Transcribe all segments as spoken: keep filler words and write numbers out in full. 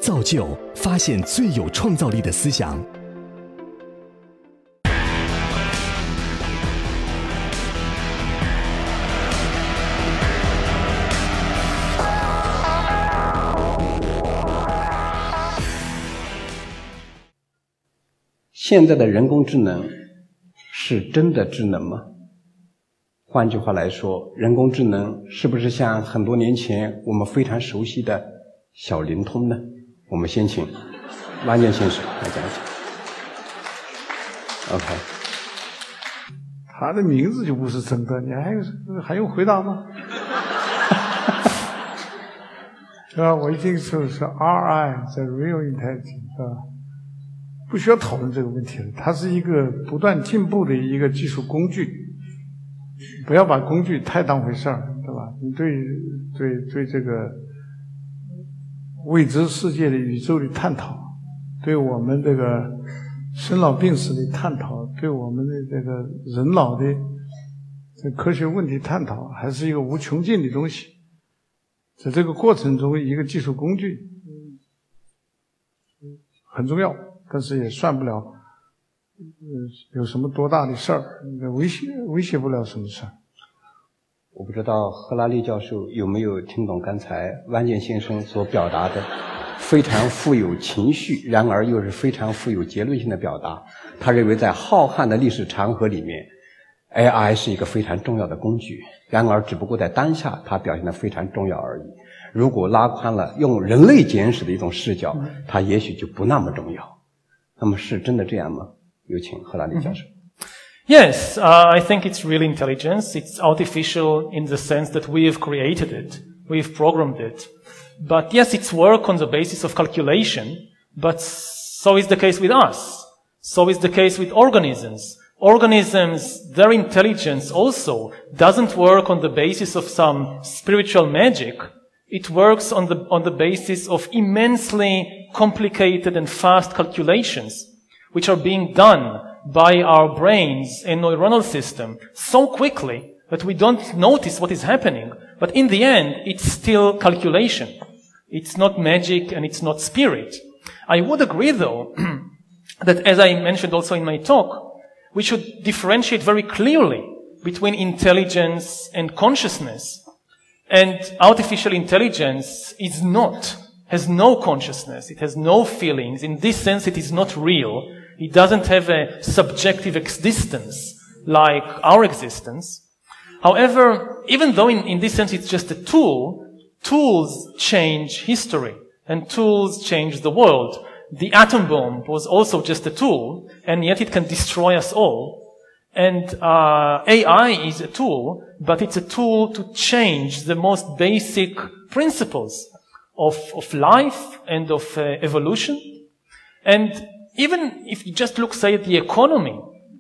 造就发现最有创造力的思想。 现在的人工智能是真的智能吗？换句话来说，人工智能是不是像很多年前我们非常熟悉的小灵通呢？我们先请汪建先生来讲一讲。OK， 他的名字就不是真的，你还有还用回答吗？是吧？我一听说是 R I， the real intelligence， 是吧？不需要讨论这个问题了，它是一个不断进步的一个技术工具，不要把工具太当回事儿，对吧？你对对对这个未知世界的宇宙的探讨，对我们这个生老病死的探讨，对我们的这个人脑的这科学问题探讨，还是一个无穷尽的东西。在这个过程中，一个技术工具很重要。但是也算不了，呃，有什么多大的事儿，威胁威胁不了什么事儿。 我不知道赫拉利教授有没有听懂刚才汪建先生所表达的非常富有情绪，然而又是非常富有结论性的表达。他认为在浩瀚的历史长河里面 ，A I 是一个非常重要的工具，然而只不过在当下它表现得非常重要而已。如果拉宽了用人类简史的一种视角，它也许就不那么重要。那么是真的这样吗？有请赫拉利教授。 Yes, uh, I think it's real intelligence. It's artificial in the sense that we have created it. We've programmed it. But yes, it's work on the basis of calculation, but so is the case with us. So is the case with organisms. Organisms, their intelligence also doesn't work on the basis of some spiritual magic. It works on the, on the basis of immensely complicated and fast calculations, which are being done by our brains and neuronal system so quickly that we don't notice what is happening. But in the end, it's still calculation. It's not magic and it's not spirit. I would agree, though, that as I mentioned also in my talk, we should differentiate very clearly between intelligence and consciousness. And artificial intelligence is not, has no consciousness. It has no feelings. In this sense, it is not real. It doesn't have a subjective existence like our existence. However, even though in, in this sense it's just a tool, tools change history and tools change the world. The atom bomb was also just a tool, and yet it can destroy us all. And uh, A I is a tool, but it's a tool to change the most basic principles of, of life and of uh, evolution. And even if you just look, say, at the economy,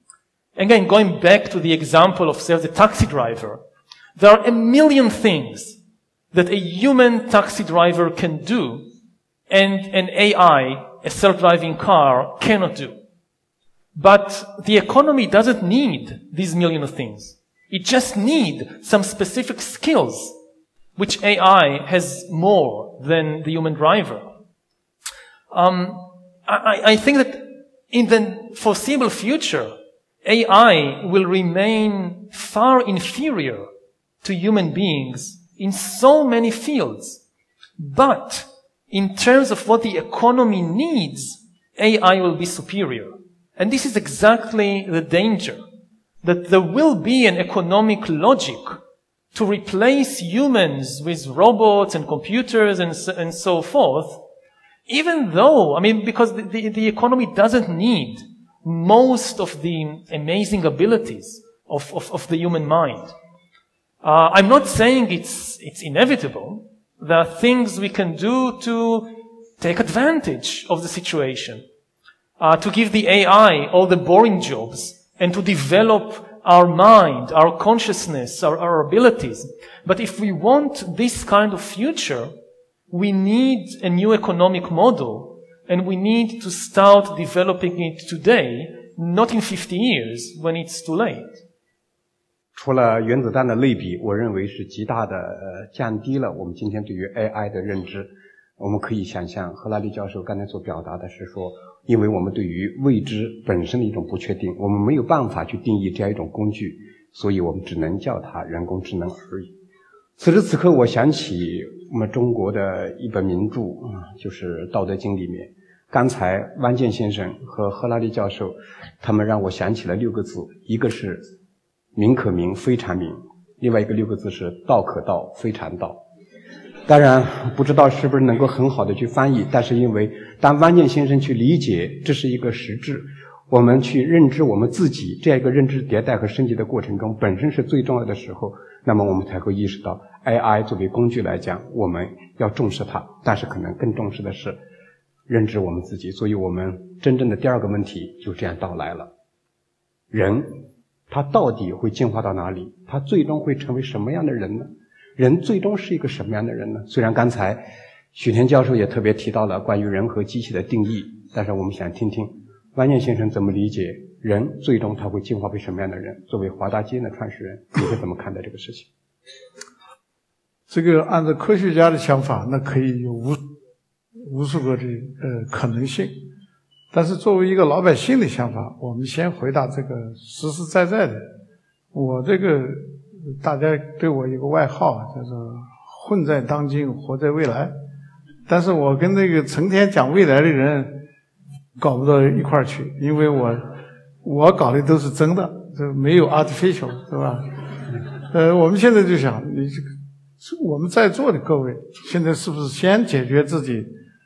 again, going back to the example of, say, the taxi driver, there are a million things that a human taxi driver can do and an A I, a self-driving car, cannot do. But the economy doesn't need these million of things. It just needs some specific skills, which A I has more than the human driver. Um, I, I think that in the foreseeable future, A I will remain far inferior to human beings in so many fields. But in terms of what the economy needs, A I will be superior. And this is exactly the danger, that there will be an economic logic to replace humans with robots and computers and so, and so forth, even though, I mean, because the, the, the economy doesn't need most of the amazing abilities of, of, of the human mind. Uh, I'm not saying it's, it's inevitable. There are things we can do to take advantage of the situation. Uh, to give the A I all the boring jobs and to develop our mind, our consciousness, our, our abilities. But if we want this kind of future, we need a new economic model, and we need to start developing it today, not in fifty years when it's too late. 除了原子弹的类比，我认为是极大的呃降低了我们今天对于 A I 的认知。 我们可以想象，赫拉利教授刚才所表达的是说，因为我们对于未知本身的一种不确定，我们没有办法去定义这样一种工具，所以我们只能叫它人工智能而已。此时此刻，我想起我们中国的一本名著，就是《道德经》里面，刚才汪建先生和赫拉利教授，他们让我想起了六个字，一个是名可名，非常名，另外一个六个字是道可道，非常道。当然不知道是不是能够很好的去翻译，但是因为当汪建先生去理解这是一个实质，我们去认知我们自己这样一个认知迭代和升级的过程中本身是最重要的时候，那么我们才会意识到 A I 作为工具来讲，我们要重视它，但是可能更重视的是认知我们自己。所以我们真正的第二个问题就这样到来了，人他到底会进化到哪里？他最终会成为什么样的人呢？人最终是一个什么样的人呢？虽然刚才许田教授也特别提到了关于人和机器的定义，但是我们想听听汪建先生怎么理解人最终他会进化为什么样的人。作为华大基因的创始人，你会怎么看待这个事情？ 这个按照科学家的想法，那可以有无无数个的呃可能性，但是作为一个老百姓的想法，我们先回答这个实实在在的。我这个大家对我有个外号叫做混在当今活在未来，但是我跟那个成天讲未来的人搞不到一块儿去，因为我我搞的都是真的，这没有 artificial， 是吧？呃，我们现在就想，你这个我们在座的各位，现在是不是先解决自己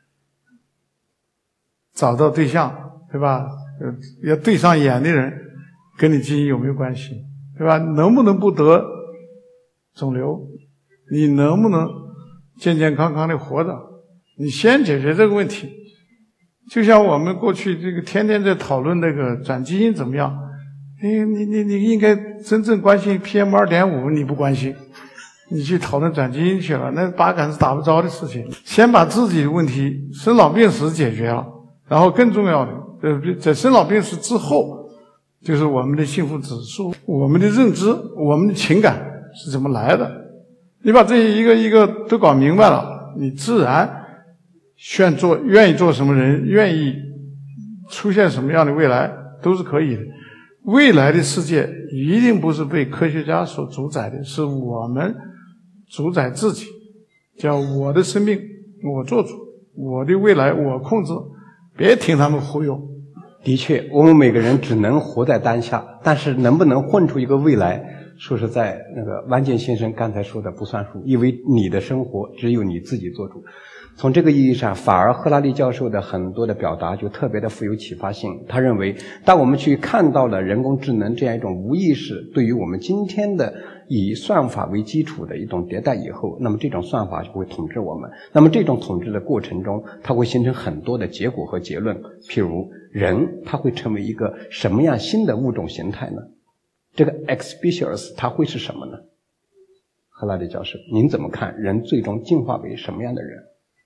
找到对象，对吧？呃，要对上眼的人跟你基因有没有关系，对吧？能不能不得肿瘤？你能不能健健康康的活着？你先解决这个问题。就像我们过去这个天天在讨论那个转基因怎么样，你你你你应该真正关心 P M 二点五， 你不关心，你去讨论转基因去了，那八竿子打不着的事情。先把自己的问题生老病死解决了，然后更重要的，呃，在生老病死之后，就是我们的幸福指数、我们的认知、我们的情感是怎么来的。你把这一个一个都搞明白了，你自然愿做愿意做什么人，愿意出现什么样的未来都是可以的。未来的世界一定不是被科学家所主宰的，是我们主宰自己，叫我的生命我做主，我的未来我控制，别听他们忽悠。 的确，我们每个人只能活在当下，但是能不能混出一个未来，说实在，那个汪建先生刚才说的不算数，因为你的生活只有你自己做主。从这个意义上，反而赫拉利教授的很多的表达就特别的富有启发性。他认为，当我们去看到了人工智能这样一种无意识对于我们今天的以算法为基础的一种迭代以后，那么这种算法就会统治我们。那么这种统治的过程中，它会形成很多的结果和结论。譬如人，它会成为一个什么样新的物种形态呢？这个 X species 它会是什么呢？赫拉利教授，您怎么看人最终进化为什么样的人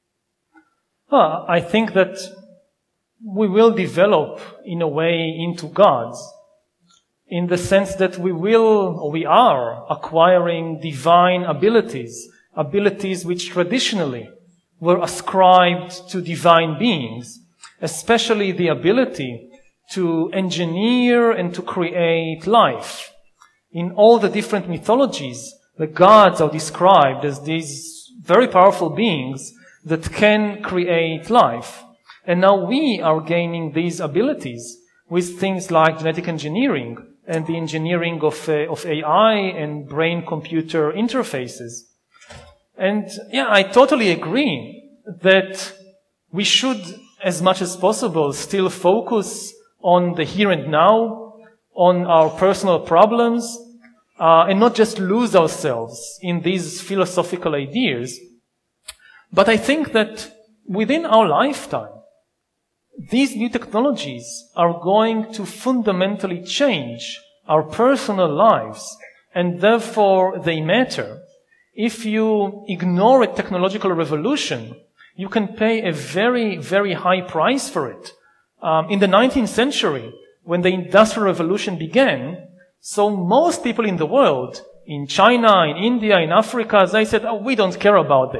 ？Uh, I think that we will develop in a way into gods, in the sense that we will, or we are, acquiring divine abilities, abilities which traditionally were ascribed to divine beings, especially the ability to engineer and to create life. In all the different mythologies, the gods are described as these very powerful beings that can create life. And now we are gaining these abilities with things like genetic engineering and the engineering of, uh, of A I and brain-computer interfaces. And yeah, I totally agree that we should, as much as possible, still focus on the here and now, on our personal problems, uh, and not just lose ourselves in these philosophical ideas. But I think that within our lifetime, these new technologies are going to fundamentally change our personal lives, and therefore they matter. If you ignore a technological revolution, you can pay a very, very high price for it. Um, in the nineteenth century, when the Industrial Revolution began, so most people in the world, in China, in India, in Africa, they said, oh, we don't care about this.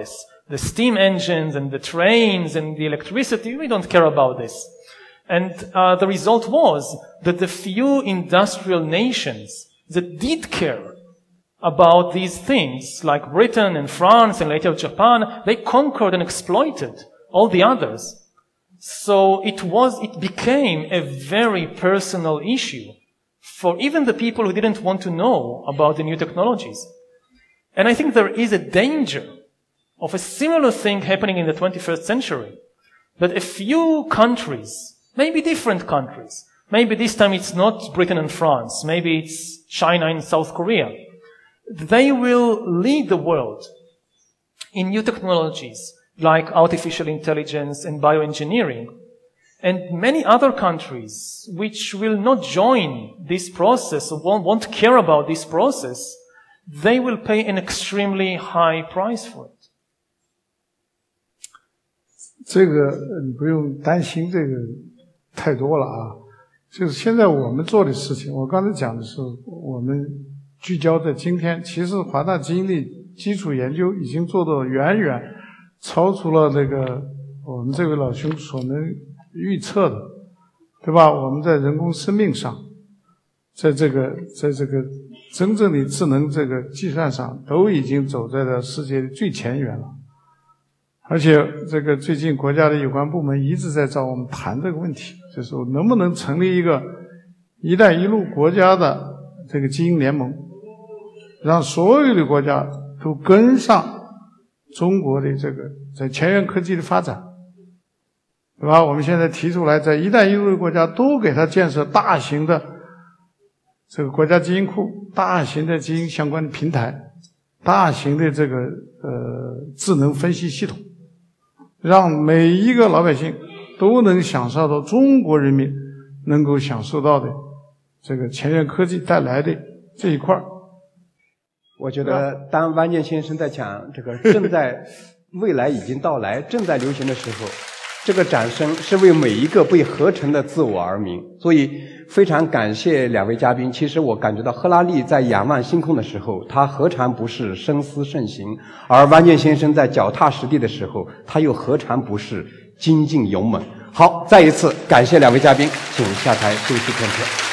the steam engines and the trains and the electricity, we don't care about this. And uh, the result was that the few industrial nations that did care about these things, like Britain and France and later Japan, they conquered and exploited all the others. So it was, it became a very personal issue for even the people who didn't want to know about the new technologies. And I think there is a danger of a similar thing happening in the twenty-first century, that a few countries, maybe different countries, maybe this time it's not Britain and France, maybe it's China and South Korea, they will lead the world in new technologies like artificial intelligence and bioengineering. And many other countries which will not join this process or won't, won't care about this process, they will pay an extremely high price for it. 这个你不用担心这个太多了啊，就是现在我们做的事情，我刚才讲的是我们聚焦在今天，其实华大基因的基础研究已经做到远远超出了这个我们这位老兄所能预测的，对吧？我们在人工生命上，在这个在这个真正的智能这个计算上，都已经走在了世界的最前沿了。而且这个最近国家的有关部门一直在找我们谈这个问题，就是说能不能成立一个一带一路国家的这个基因联盟，让所有的国家都跟上中国的这个在前沿科技的发展，对吧？我们现在提出来，在一带一路的国家都给它建设大型的这个国家基因库，大型的基因相关的平台，大型的这个呃智能分析系统，让每一个老百姓都能享受到中国人民能够享受到的这个前沿科技带来的这一块。 我觉得当万剑先生在讲这个正在未来已经到来正在流行的时候，这个掌声是为每一个被合成的自我而鸣。所以非常感谢两位嘉宾。其实我感觉到赫拉利在仰望星空的时候，他何尝不是深思慎行，而万剑先生在脚踏实地的时候，他又何尝不是精进勇猛。好，再一次感谢两位嘉宾，请下台休息片刻。